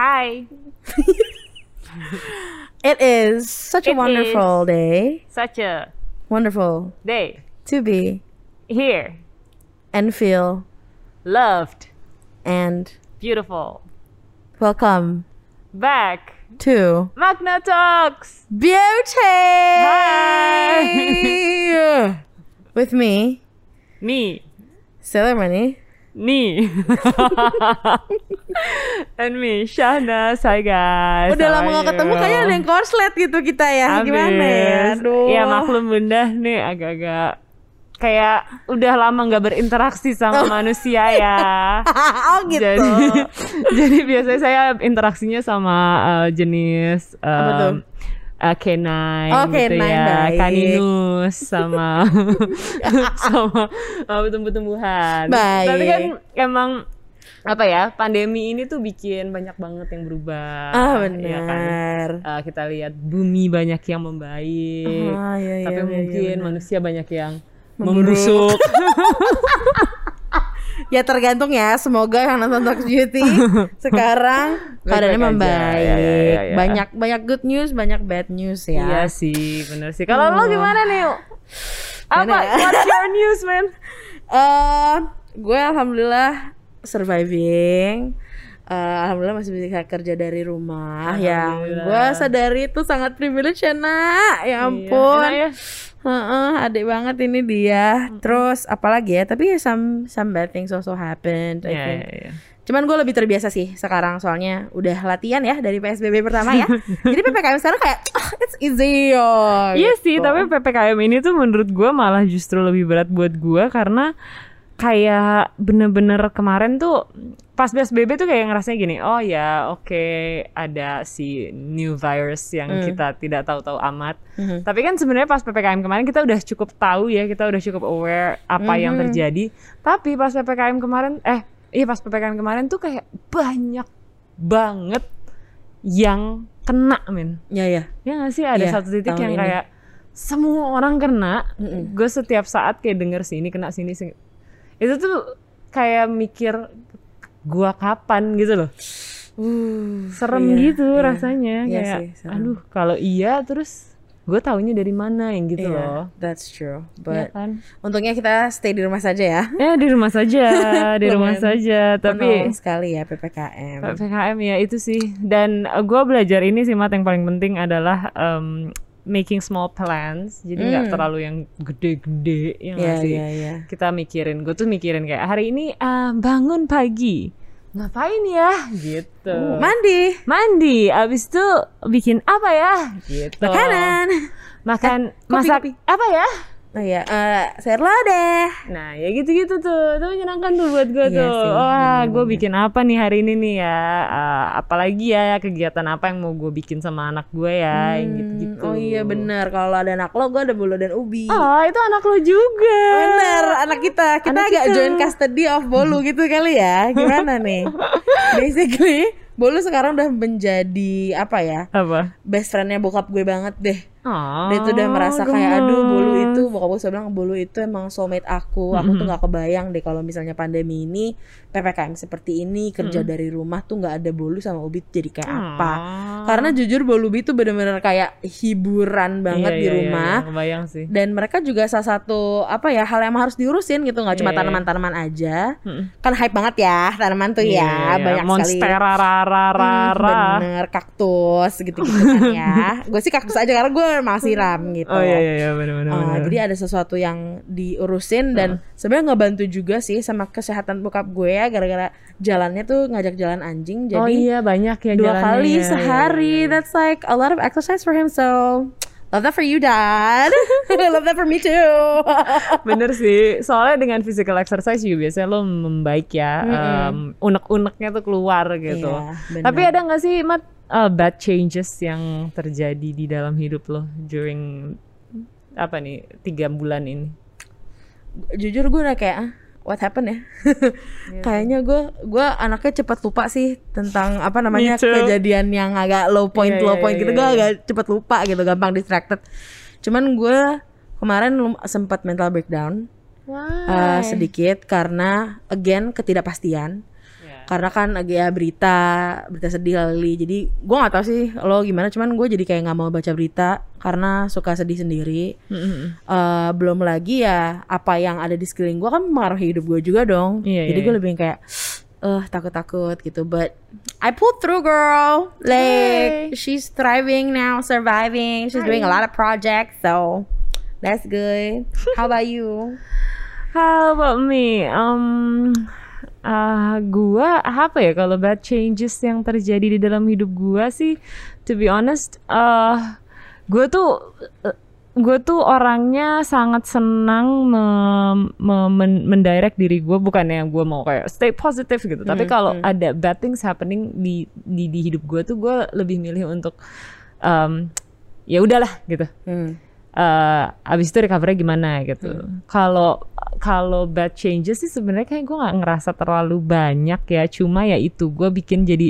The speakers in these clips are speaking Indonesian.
Hi. It is such a wonderful day. Such a Wonderful day. to be Here. and feel Loved. and Beautiful. welcome Back. to Magna Talks. Beauty. Hi. With me, Sailor Money. Me. And me, Shahnas. Hi guys. Udah How lama are gak ketemu, you? kayaknya ada yang korslet gitu kita ya. Abis. Gimana ya? Aduh. Ya maklum bunda nih agak-agak kayak udah lama nggak berinteraksi sama manusia ya. Oh gitu. Jadi biasanya saya interaksinya sama jenis Apa tuh? canine Oh, gitu canine, ya, baik. kaninus sama sama tumbuh-tumbuhan. Baik. Tapi kan emang apa ya, pandemi ini tuh bikin banyak banget yang berubah. Benar. Ya kan? Kita lihat bumi banyak yang membaik, Iya, tapi iya, mungkin benar. manusia banyak yang Memburuk. membusuk. Ya tergantung ya. Semoga yang nonton Talks Beauty sekarang keadaannya Baik-baik aja. membaik. Ya. Banyak good news, banyak bad news ya. Iya sih, bener sih. Kalau lo gimana nih? Apa? Gimana ya? What's your news, man? Gue alhamdulillah surviving. Alhamdulillah masih bisa kerja dari rumah. Yang Alhamdulillah. gue sadari itu sangat privilege ya nak. Ya ampun. Iya, enak ya. Adik banget ini dia. Terus apalagi ya? Tapi ya some bad things also happened. I Iya, think. iya. Cuman gue lebih terbiasa sih sekarang, soalnya udah latihan ya dari PSBB pertama ya. Jadi PPKM sekarang kayak it's easy Iya sih, gitu. tapi PPKM ini tuh menurut gue malah justru lebih berat buat gue karena kayak bener-bener kemarin tuh pas PSBB tuh kayak ngerasanya gini, oh ya oke, ada si new virus yang kita tidak tahu-tahu amat. Tapi kan sebenarnya pas PPKM kemarin kita udah cukup tahu ya, kita udah cukup aware apa yang terjadi. Tapi pas PPKM kemarin, pas PPKM kemarin tuh kayak banyak banget yang kena, men. Ya ya. Ya nggak sih, ada Iya, satu titik tahun yang ini. kayak semua orang kena. Gue setiap saat kayak denger sini kena sini. Itu tuh kayak mikir gua kapan gitu loh. Serem iya, gitu iya. rasanya. Iya Kayak sih, serem. aduh kalau iya terus gue taunya dari mana yang gitu loh. That's true. Ya But kan? untungnya kita stay di rumah saja ya. Di rumah saja, di rumah saja. Tapi Penuh sekali ya PPKM. PPKM ya itu sih. Dan gue belajar ini sih, Mat, yang paling penting adalah making small plans. Jadi nggak terlalu yang gede-gede ya nggak sih. Iya. Kita mikirin, gue tuh mikirin kayak hari ini bangun pagi ngapain ya gitu. Mandi, abis itu bikin apa ya gitu. Makan masak kopi. apa ya. Oh iya, sayur lodeh. Nah ya gitu-gitu tuh menyenangkan tuh buat gue Iya tuh. sih, Wah, gue bener-bener. bikin apa nih hari ini nih ya, apalagi ya kegiatan apa yang mau gue bikin sama anak gue ya, yang gitu-gitu. Oh iya benar, kalau ada anak lo, gue ada bulu dan ubi. Oh itu anak lo juga. Bener, anak kita Anak agak kita. join custody of Bolu gitu kali ya. Gimana nih? Basically, Bolu sekarang udah menjadi apa ya? Apa? Best friendnya bokap gue banget deh. Oh, Dia tuh udah merasa kayak gemes. aduh Bolu itu, bokap gue selalu bilang Bolu itu emang soulmate aku. Aku tuh gak kebayang deh kalau misalnya pandemi ini, PPKM seperti ini, kerja dari rumah tuh gak ada Bolu sama Ubi jadi kayak apa. Karena jujur Bolubi tuh bener-bener kayak hiburan banget di rumah. Iya, kebayang sih. Dan mereka juga salah satu apa ya, hal yang harus diurusin gitu, nggak cuma Iya. tanaman-tanaman aja. Kan hype banget ya tanaman tuh ya, banyak sekali. Monstera rara. Bener, kaktus gitu-gitu kan ya. Gue sih kaktus aja karena gue masih siram gitu. Oh iya benar. Jadi ada sesuatu yang diurusin dan sebenarnya ngebantu juga sih sama kesehatan bokap gue ya, gara-gara jalannya tuh ngajak jalan anjing. Jadi Oh iya banyak ya 2 jalannya. kali Iya, sehari. iya. That's like a lot of exercise for him, so love that for you, Dad. Love that for me too. Bener sih, soalnya dengan physical exercise juga biasanya lo membaik ya, unek-uneknya tuh keluar gitu. Iya, bener. Tapi ada nggak sih, Mat, bad changes yang terjadi di dalam hidup lo during 3 bulan ini? Jujur gue udah kayak what happened ya? Kayaknya gue anaknya cepat lupa sih tentang Me too. kejadian yang agak low point gitu. Gue agak cepat lupa gitu, gampang distracted. Cuman gue kemarin sempat mental breakdown Why? sedikit karena again ketidakpastian. Karena kan agak ya berita sedih kali. Jadi gue nggak tahu sih lo gimana, cuman gue jadi kayak nggak mau baca berita karena suka sedih sendiri. Belum lagi ya apa yang ada di sekeliling gue kan mempengaruhi hidup gue juga dong. Jadi gue lebih kayak takut-takut gitu. But I pulled through, girl. Like she's thriving now, surviving. She's doing a lot of projects, so that's good. How about you? How about me? Gua apa ya kalau bad changes yang terjadi di dalam hidup gua sih, to be honest, gua tuh orangnya sangat senang mendirect diri gua, bukannya gua mau kayak stay positive gitu, tapi kalau ada bad things happening di hidup gua tuh gua lebih milih untuk ya udahlah gitu. Abis itu recovery gimana gitu. Kalau bad changes sih sebenarnya kayak gue nggak ngerasa terlalu banyak ya. Cuma ya itu gue bikin jadi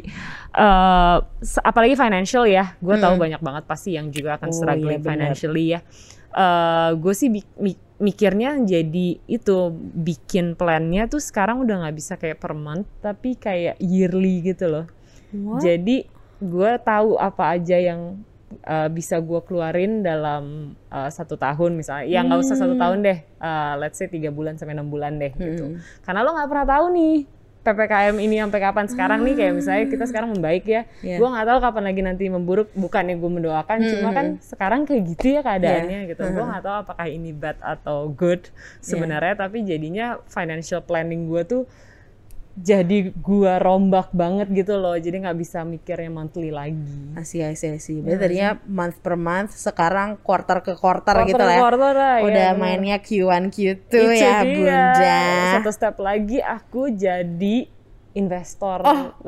apalagi financial ya. Gue tahu banyak banget pasti yang juga akan struggling financially ya. Gue sih mikirnya jadi itu bikin plannya tuh sekarang udah nggak bisa kayak per month tapi kayak yearly gitu loh. Jadi gue tahu apa aja yang bisa gue keluarin dalam 1 tahun misalnya, ya nggak usah 1 tahun deh, let's say 3 bulan sampai 6 bulan deh gitu. Karena lo nggak pernah tahu nih PPKM ini sampai kapan. Sekarang nih kayak misalnya kita sekarang membaik ya, gue nggak tahu kapan lagi nanti memburuk. Bukannya gue mendoakan, cuma kan sekarang kayak gitu ya keadaannya gitu. Gue nggak tahu apakah ini bad atau good sebenarnya, tapi jadinya financial planning gue tuh jadi gua rombak banget gitu loh, jadi nggak bisa mikirnya monthly lagi. Berarti tadinya month per month, sekarang quarter ke quarter gitu lah ya. Udah mainnya Q1 Q2 ya bunda. Satu step lagi aku jadi investor.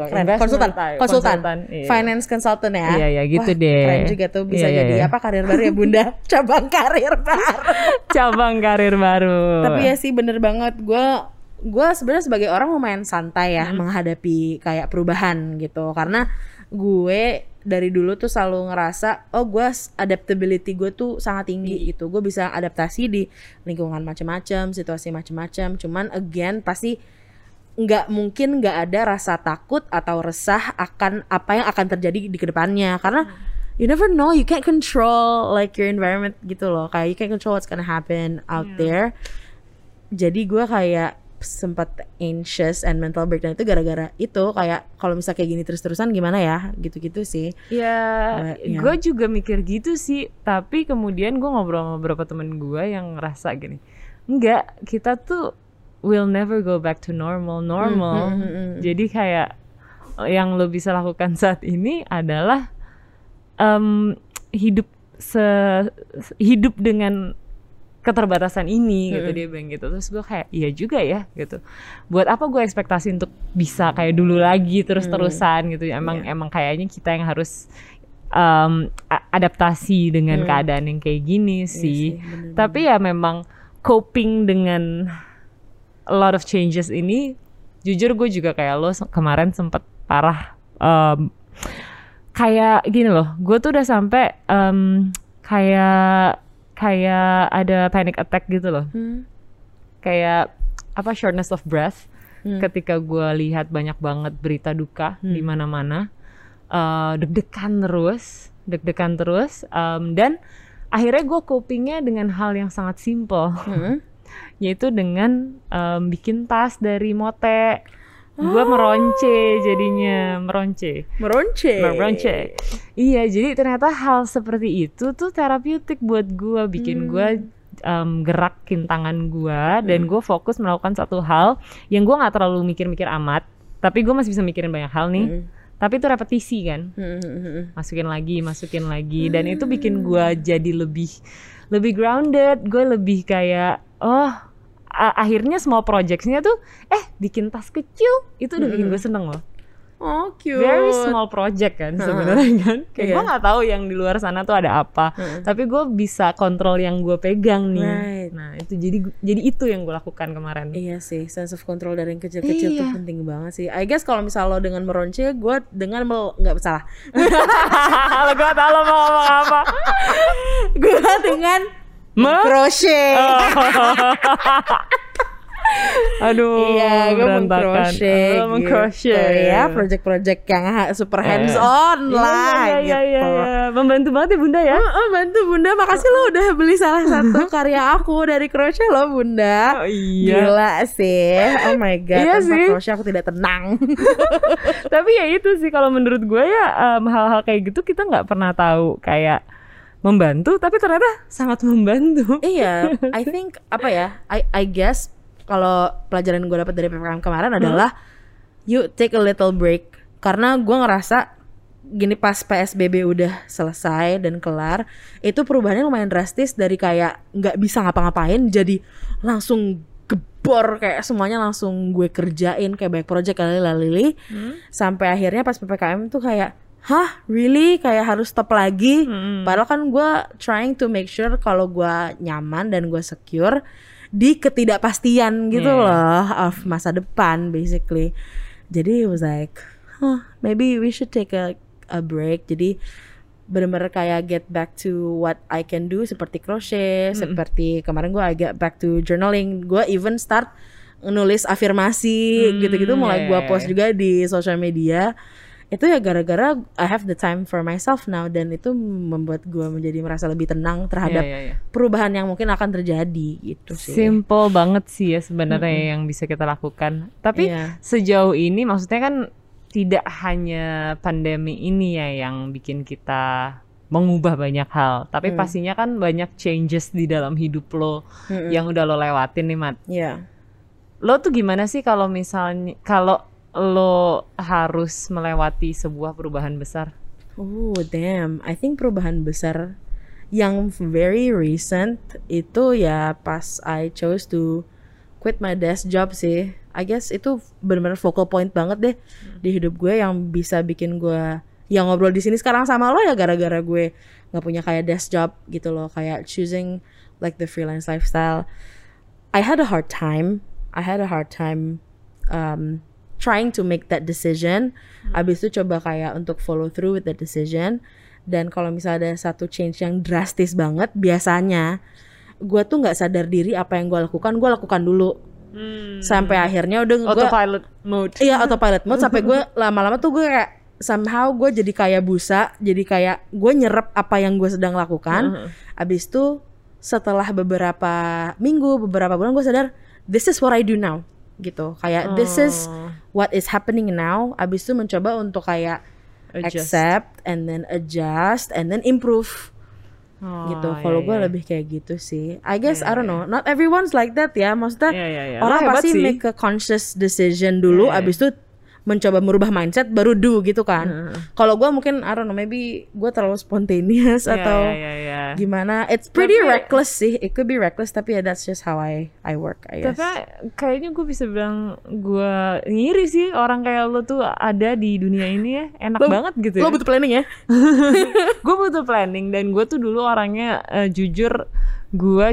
Konsultan. Finance consultant ya. Iya gitu deh. Keren juga tuh, bisa jadi apa karir baru ya bunda. Cabang karir baru. Tapi ya sih bener banget, gue sebenarnya sebagai orang lumayan santai ya menghadapi kayak perubahan gitu, karena gue dari dulu tuh selalu ngerasa gue adaptability gue tuh sangat tinggi gitu. Gue bisa adaptasi di lingkungan macam-macam, situasi macam-macam. Cuman again pasti nggak mungkin nggak ada rasa takut atau resah akan apa yang akan terjadi di kedepannya, karena you never know, you can't control like your environment gitu loh, kayak you can't control what's gonna happen out there. Jadi gue kayak sempat anxious and mental breakdown itu gara-gara itu, kayak kalau misalnya kayak gini terus-terusan gimana ya, gitu-gitu sih. Ya, gue juga mikir gitu sih, tapi kemudian gue ngobrol sama beberapa temen gue yang ngerasa gini, enggak, kita tuh will never go back to normal. Jadi kayak yang lo bisa lakukan saat ini adalah hidup dengan keterbatasan ini gitu, dia bilang gitu. Terus gue kayak iya juga ya gitu, buat apa gue ekspektasi untuk bisa kayak dulu lagi terus-terusan gitu. Emang kayaknya kita yang harus adaptasi dengan keadaan yang kayak gini sih. Tapi ya memang coping dengan a lot of changes ini, jujur gue juga kayak lo kemarin sempet parah, kayak gini loh, gue tuh udah sampai kayak ada panic attack gitu loh. Kayak apa, shortness of breath ketika gue lihat banyak banget berita duka di mana-mana. Deg-degan terus dan akhirnya gue copingnya dengan hal yang sangat simple, yaitu dengan bikin tas dari mote. Gue meronce. Iya, jadi ternyata hal seperti itu tuh terapeutik buat gue, bikin gue gerakin tangan gue dan gue fokus melakukan satu hal yang gue nggak terlalu mikir-mikir amat, tapi gue masih bisa mikirin banyak hal nih. Tapi itu repetisi kan, masukin lagi, dan itu bikin gue jadi lebih grounded. Gue lebih kayak akhirnya small projects-nya tuh bikin tas kecil itu udah bikin gue seneng loh. Oh, cute. Very small project kan sebenarnya kan. Kayak gue nggak tahu yang di luar sana tuh ada apa, tapi gue bisa kontrol yang gue pegang nih. Right. Nah itu jadi itu yang gue lakukan kemarin. Iya sih, sense of control dari yang kecil-kecil tuh penting banget sih. I guess kalau misal lo dengan meronce, gue dengan nggak salah. Gue tahu lo mau ngomong apa. Gue dengan crochet. Aduh, Iya, gue berantakan. mengcrochet Mengcrochet. ya, project-project yang super hands on lah Iya, gitu. Membantu banget ya Bunda ya. Bantu Bunda, makasih lo udah beli salah satu karya aku dari crochet lo Bunda. Oh, iya. Gila sih, oh my god, Iya tanpa sih. crochet aku tidak tenang. Tapi ya itu sih kalau menurut gue ya hal-hal kayak gitu kita nggak pernah tahu kayak membantu, tapi ternyata sangat membantu. Iya, I think apa ya, I guess kalau pelajaran gue dapat dari PPKM kemarin adalah you take a little break, karena gue ngerasa gini pas PSBB udah selesai dan kelar, itu perubahannya lumayan drastis dari kayak nggak bisa ngapa-ngapain jadi langsung gebor, kayak semuanya langsung gue kerjain kayak banyak project lali-lali sampai akhirnya pas PPKM tuh kayak hah really kayak harus stop lagi. Padahal kan gue trying to make sure kalau gue nyaman dan gue secure di ketidakpastian gitu loh of masa depan basically. Jadi it was like maybe we should take a break. Jadi bener-bener kayak get back to what I can do, seperti crochet, seperti kemarin gue agak back to journaling. Gue even start nulis afirmasi gitu-gitu, mulai gue post juga di social media. Itu ya gara-gara I have the time for myself now, dan itu membuat gue menjadi merasa lebih tenang terhadap perubahan yang mungkin akan terjadi gitu sih. Simple banget sih ya sebenarnya yang bisa kita lakukan. Tapi sejauh ini maksudnya kan tidak hanya pandemi ini ya yang bikin kita mengubah banyak hal, tapi pastinya kan banyak changes di dalam hidup lo yang udah lo lewatin nih Mat. Lo tuh gimana sih kalau misalnya kalau lo harus melewati sebuah perubahan besar? Oh damn, I think perubahan besar yang very recent itu ya pas I chose to quit my desk job sih. I guess itu benar-benar focal point banget deh di hidup gue, yang bisa bikin gue yang ngobrol di sini sekarang sama lo ya gara-gara gue nggak punya kayak desk job gitu loh, kayak choosing like the freelance lifestyle. I had a hard time trying to make that decision. Abis itu coba kayak untuk follow through with the decision. Dan kalau misalnya ada satu change yang drastis banget, biasanya gue tuh nggak sadar diri apa yang gue lakukan dulu. Sampai akhirnya udah gue autopilot mode. Iya, autopilot mode sampai gue lama-lama tuh gue kayak somehow gue jadi kayak busa, jadi kayak gue nyerap apa yang gue sedang lakukan. Abis itu setelah beberapa minggu, beberapa bulan gue sadar this is what I do now gitu, kayak this is what is happening now. Abis itu mencoba untuk kayak accept and then adjust and then improve gitu. Kalau gue lebih kayak gitu sih, I guess. I don't know, not everyone's like that ya, maksudnya orang pasti make a conscious decision dulu, abis itu mencoba merubah mindset baru do gitu kan. Kalau gue mungkin I don't know, maybe gue terlalu spontaneous atau gimana. It's pretty reckless sih, it could be reckless, tapi ya that's just how I work, I guess. Tapi kayaknya gue bisa bilang gue ngiri sih orang kayak lo tuh ada di dunia ini ya, enak banget gitu ya. Lo butuh planning ya? Gue butuh planning, dan gue tuh dulu orangnya jujur gue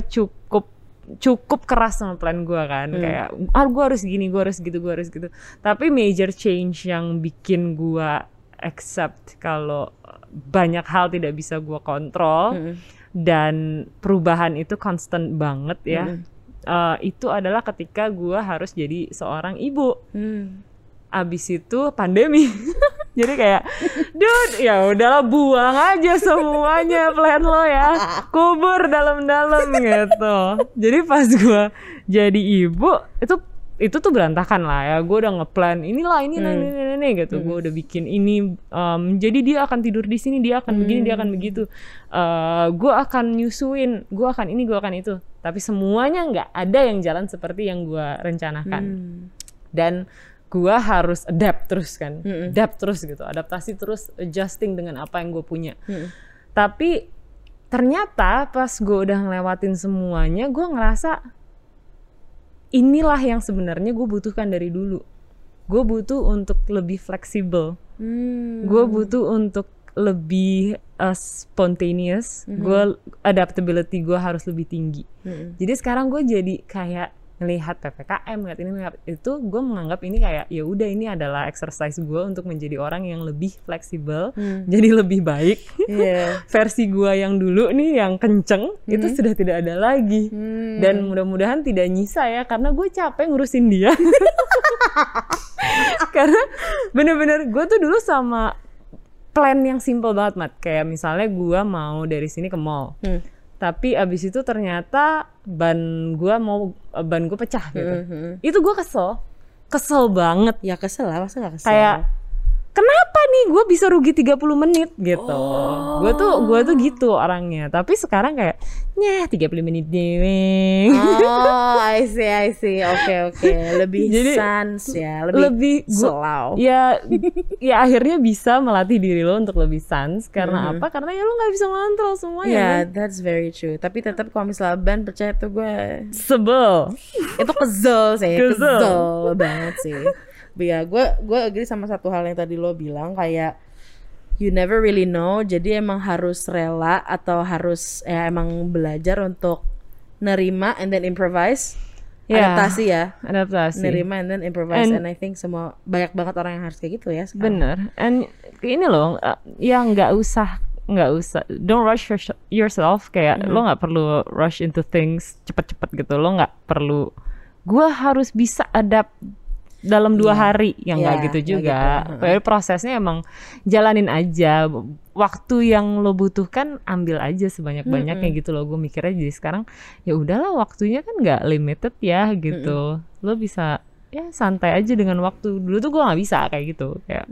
cukup keras sama plan gue kan, kayak gue harus gini, gue harus gitu, gue harus gitu. Tapi major change yang bikin gue accept kalau banyak hal tidak bisa gue kontrol dan perubahan itu constant banget ya, itu adalah ketika gue harus jadi seorang ibu. Abis itu pandemi. Jadi kayak dude, ya udahlah buang aja semuanya plan lo ya, kubur dalam-dalam gitu. Jadi pas gue jadi ibu itu tuh berantakan lah ya. Gue udah ngeplan inilah ini gitu. Gue udah bikin ini, jadi dia akan tidur di sini, dia akan begini, dia akan begitu. Gue akan nyusuin, gue akan ini, gue akan itu. Tapi semuanya nggak ada yang jalan seperti yang gue rencanakan. Dan gue harus adapt terus kan, adaptasi terus, adjusting dengan apa yang gue punya. Tapi ternyata pas gue udah ngelewatin semuanya, gue ngerasa inilah yang sebenarnya gue butuhkan dari dulu. Gue butuh untuk lebih fleksibel, gue butuh untuk lebih spontaneous, gue adaptability gue harus lebih tinggi. Jadi sekarang gue jadi kayak ngelihat PPKM, ngelihat ini, ngelihat itu, gue menganggap ini kayak ya udah ini adalah exercise gue untuk menjadi orang yang lebih fleksibel, jadi lebih baik. Versi gue yang dulu nih yang kenceng itu sudah tidak ada lagi, dan mudah-mudahan tidak nyisa ya, karena gue capek ngurusin dia. Karena bener-bener gue tuh dulu sama plan yang simple banget, Mat. Kayak misalnya gue mau dari sini ke mall, tapi abis itu ternyata ban gue pecah gitu. Itu gue kesel banget. Ya kesel lah, masa gak kesel? Kayak kenapa nih gue bisa rugi 30 menit gitu. Gue tuh gitu orangnya. Tapi sekarang kayak 30 menit deh. Oh, I see. Oke. Lebih jadi, sans ya, lebih slow. Ya akhirnya bisa melatih diri lo untuk lebih sans. Karena apa? Karena ya lo gak bisa ngontrol semuanya. Yeah, that's very true. Tapi tetap kalau misalnya ban percaya tuh gue sebel. Itu kesel sih, kesel banget sih. But ya, gue agree sama satu hal yang tadi lo bilang, kayak you never really know. Jadi emang harus rela atau harus emang belajar untuk nerima and then improvise. Adaptasi ya. Nerima and then improvise. And I think banyak banget orang yang harus kayak gitu ya sekarang. Bener. And ini loh, ya nggak usah. Don't rush yourself. Kayak lo nggak perlu rush into things cepet-cepet gitu. Lo nggak perlu. Gue harus bisa adapt dalam 2 hari, yang nggak gitu juga. Gitu. Prosesnya emang jalanin aja. Waktu yang lo butuhkan ambil aja sebanyak-banyaknya gitu loh. Gue mikirnya jadi sekarang ya udahlah, waktunya kan nggak limited ya gitu. Lo bisa ya santai aja dengan waktu. Dulu tuh gue nggak bisa kayak gitu. Kayak.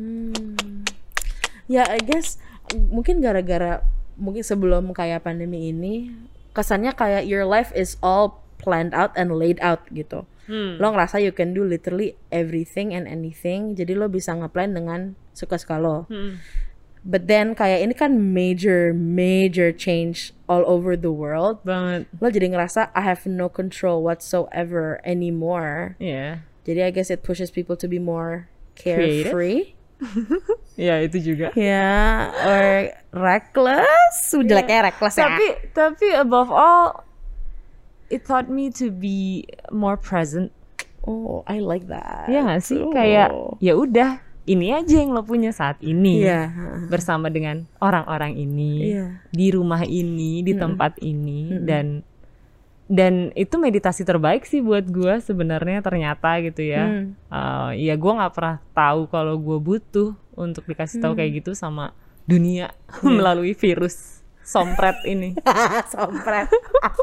Ya I guess mungkin gara-gara mungkin sebelum kayak pandemi ini kesannya kayak your life is all planned out and laid out gitu. Lo ngerasa you can do literally everything and anything, jadi lo bisa ngeplan dengan suka-suka lo. But then kayak ini kan major change all over the world banget. Lo jadi ngerasa I have no control whatsoever anymore. Jadi I guess it pushes people to be more carefree. Ya itu juga. Ya, or reckless. Jeleknya reckless ya. Tapi above all, it taught me to be more present. Oh, I like that. Ya nggak sih, kayak ya udah ini aja yang lo punya saat ini, bersama dengan orang-orang ini, di rumah ini, di tempat ini, dan itu meditasi terbaik sih buat gue sebenarnya ternyata gitu ya. Ya gue nggak pernah tahu kalau gue butuh untuk dikasih tahu kayak gitu sama dunia melalui virus sompret ini. Sompret.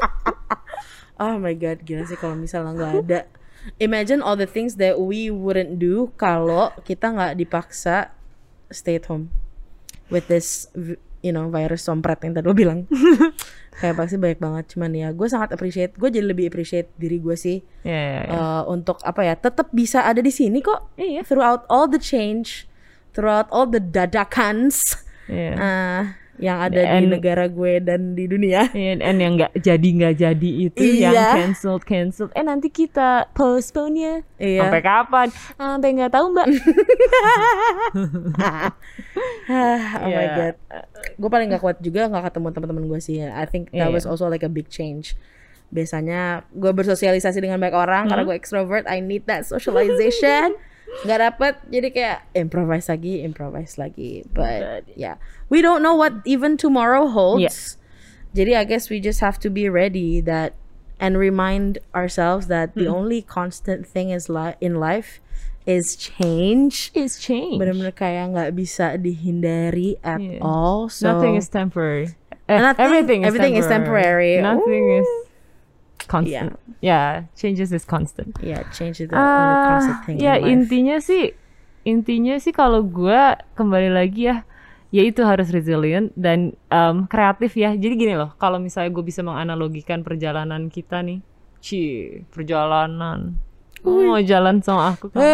Oh my god, gila sih kalau misalnya nggak ada. Imagine all the things that we wouldn't do kalau kita nggak dipaksa stay at home with this, virus sompret yang tadi lo bilang. Kayak pasti banyak banget. Cuman ya gue sangat appreciate. Gue jadi lebih appreciate diri gue sih. Untuk tetap bisa ada di sini kok. Throughout all the change, throughout all the dadakans. Yang ada di negara gue dan di dunia. And yang nggak jadi itu, yang cancelled. Nanti kita postpone ya. Sampai kapan? Sampai nggak tahu, Mbak. Oh my god. Gue paling nggak kuat juga nggak ketemu teman-teman gue sih. I think that was also like a big change. Biasanya gue bersosialisasi dengan banyak orang karena gue extrovert. I need that socialization. Nggak dapet, jadi kayak improvise lagi. But yeah, we don't know what even tomorrow holds. Jadi I guess we just have to be ready that and remind ourselves that the only constant thing in life is change. Benar-benar kayak nggak bisa dihindari at all. So nothing is temporary. Everything is temporary. Nothing is constant. Changes is constant. Change is the only constant thing in life. Intinya sih kalau gue kembali lagi ya itu harus resilient dan kreatif ya. Jadi gini loh, kalau misalnya gue bisa menganalogikan perjalanan kita nih, perjalanan. Mau jalan sama aku kan?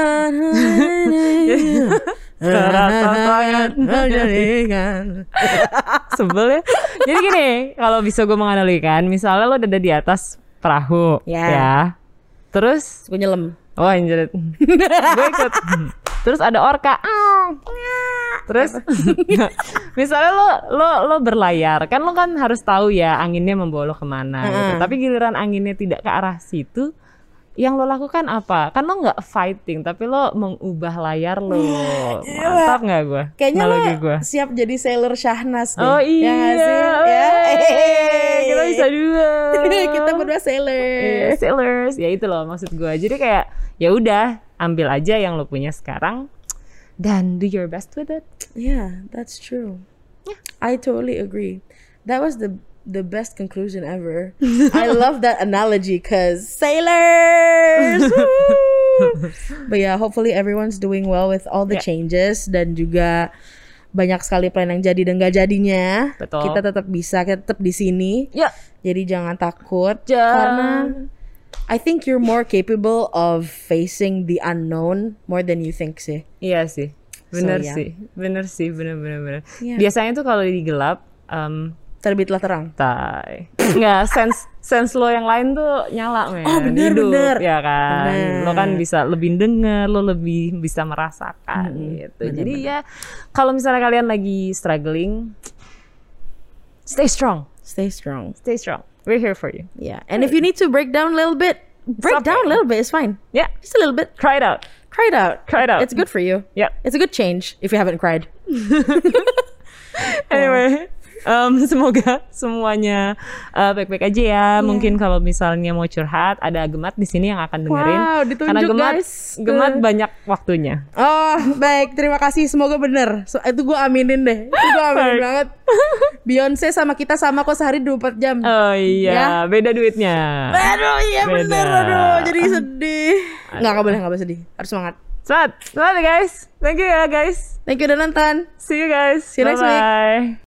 Sebel ya. Jadi gini, kalau bisa gue menganalogikan, misalnya lo ada di atas perahu, ya. Terus gue nyelam. Oh anjir. Gue ikut. Terus ada orka. Terus misalnya lo berlayar, kan lo kan harus tahu ya anginnya membawa lo kemana gitu. Tapi giliran anginnya tidak ke arah situ, yang lo lakukan apa? Kan lo nggak fighting, tapi lo mengubah layar lo. Mantap nggak gue? Kayaknya lo gua. siap jadi Sailor Syahnas deh. Oh iya, ya nggak sih? Ya. Kita bisa dua. Kita berdua sailor. Iya, sailors, ya itu loh maksud gue. Jadi kayak ya udah, ambil aja yang lo punya sekarang dan do your best with it. Yeah, that's true. Yeah. I totally agree. That was the best conclusion ever. I love that analogy because sailors. But yeah, hopefully everyone's doing well with all the changes dan juga banyak sekali plan yang jadi dan gak jadinya. Betul. Kita tetap bisa, kita tetap di sini. Ya. Jadi jangan takut karena I think you're more capable of facing the unknown more than you think sih. Iya sih. Bener So, yeah. sih. Bener. Yeah. Biasanya tuh kalau di gelap Terbitlah terang. tai. Nggak, sense lo yang lain tuh nyala, men. Oh, bener, Hidup, bener. ya kan. Bener. Lo kan bisa lebih denger, lo lebih bisa merasakan gitu. Bener, Jadi ya kalau misalnya kalian lagi struggling, stay strong. Stay strong. Stay strong. We're here for you. Yeah. And if you need to break down a little bit, break okay. down a little bit. It's fine. Yeah, Just a little bit. cry it out. Cry it out. Cry it out. It's good for you. Yep. It's a good change if you haven't cried. Anyway, semoga semuanya baik-baik aja ya. Mungkin kalau misalnya mau curhat, ada Gemat di sini yang akan dengerin. Wow, ditunjuk, karena guys. Gemat banyak waktunya. Oh, baik. Terima kasih. Semoga bener. Itu gue aminin deh. Itu gue aminin banget. Beyonce sama kita sama kok sehari 24 jam. Oh iya, Ya. beda duitnya. Aduh, iya Beda. bener. Aduh, jadi sedih. Nggak boleh sedih. Harus semangat. Semangat ya guys. Thank you ya guys. Thank you udah nonton. See you guys. See you next week. Bye-bye.